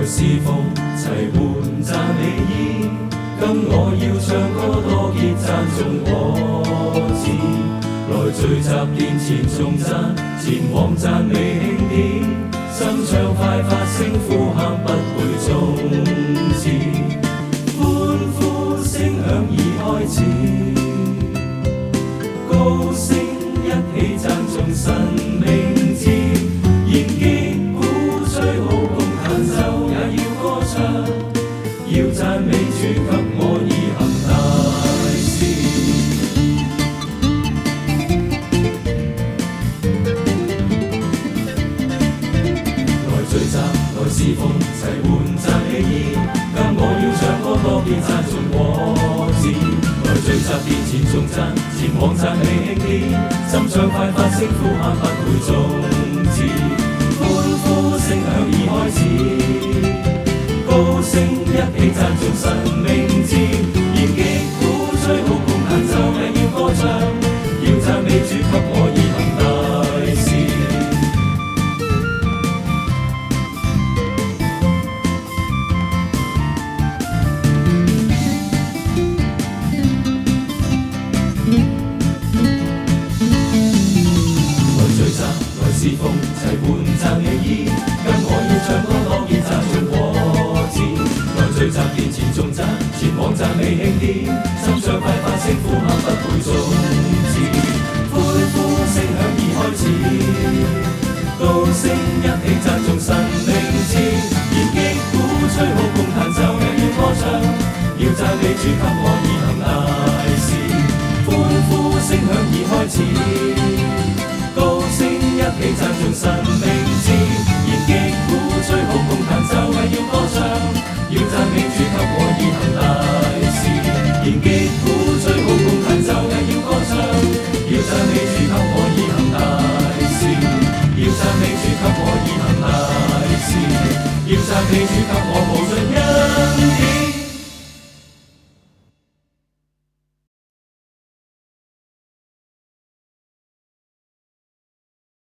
侍奉，齐换赞美衣。今我要唱歌多结赞颂我子，来聚集殿前颂赞，前往赞美庆典，心唱快發聲呼喊不會終止，歡呼聲響已開始，高聲一起讚頌神名字，弦擊鼓吹號共彈奏也要歌唱，要讚美主給我已行大事。來聚集，來侍奉，齊換讚美衣。今我要唱歌多結讚頌我子，來聚集殿前頌讚，前往讚美慶典，心唱快發聲呼喊不會終止，歡呼聲響已開始。高聲一起讚頌神名字，弦擊鼓吹號共彈奏也要歌唱，要讚美主給我已行大事。來聚集，來侍奉，齊換讚美衣。今我要唱歌多結讚頌我子，來聚集殿前頌讚，前往讚美慶典，心唱快發聲呼喊不會終止，歡呼聲響已開始，高聲一起讚頌神名字，弦擊鼓吹號共彈奏也要歌唱，要讚美主給我已行大事，歡呼聲響已開始，高聲一起讚頌神名字，弦擊鼓吹號共彈奏也要歌唱，要讚美主給我已行大事，弦擊鼓吹號共彈奏也要歌唱，要讚美主給我已行大事，要讚美主給我已行大事，要讚美主給我無盡恩典。